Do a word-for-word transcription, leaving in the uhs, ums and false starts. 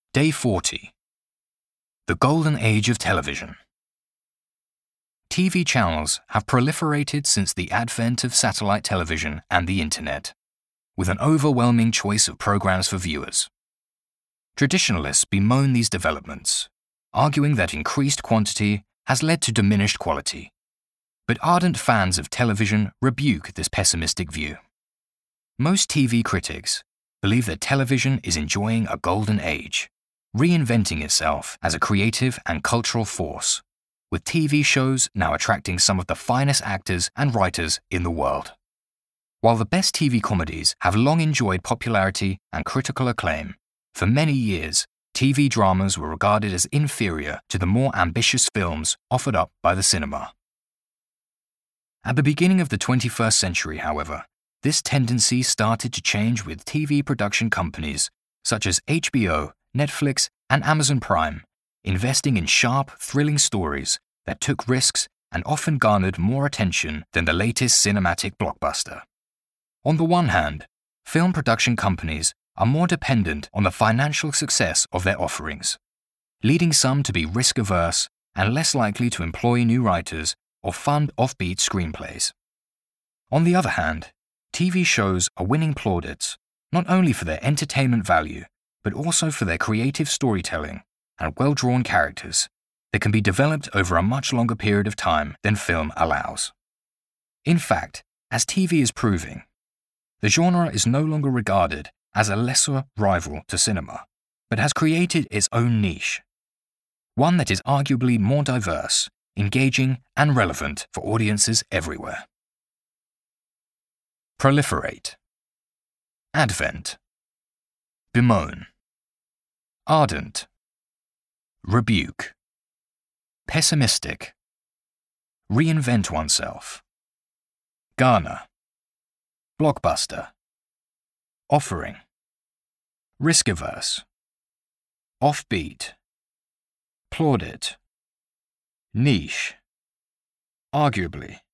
Day forty. The Golden Age of Television. T V channels have proliferated since the advent of satellite television and the Internet, with an overwhelming choice of programs for viewers. Traditionalists bemoan these developments, arguing that increased quantity has led to diminished quality. But ardent fans of television rebuke this pessimistic view. Most T V critics believe that television is enjoying a golden age, reinventing itself as a creative and cultural force, with T V shows now attracting some of the finest actors and writers in the world. While the best T V comedies have long enjoyed popularity and critical acclaim, for many years, T V dramas were regarded as inferior to the more ambitious films offered up by the cinema. At the beginning of the twenty-first century, however, this tendency started to change with T V production companies such as H B O, Netflix, and Amazon Prime, investing in sharp, thrilling stories that took risks and often garnered more attention than the latest cinematic blockbuster. On the one hand, film production companies are more dependent on the financial success of their offerings, leading some to be risk-averse and less likely to employ new writers or fund offbeat screenplays. On the other hand, T V shows are winning plaudits not only for their entertainment value, but also for their creative storytelling and well-drawn characters that can be developed over a much longer period of time than film allows. In fact, as T V is proving, the genre is no longer regarded as a lesser rival to cinema, but has created its own niche, one that is arguably more diverse, engaging, and relevant for audiences everywhere. Proliferate. Advent. Bemoan. Ardent. Rebuke. Pessimistic. Reinvent oneself. Garner. Blockbuster. Offering. Risk-averse. Offbeat. Plaudit. Niche. Arguably.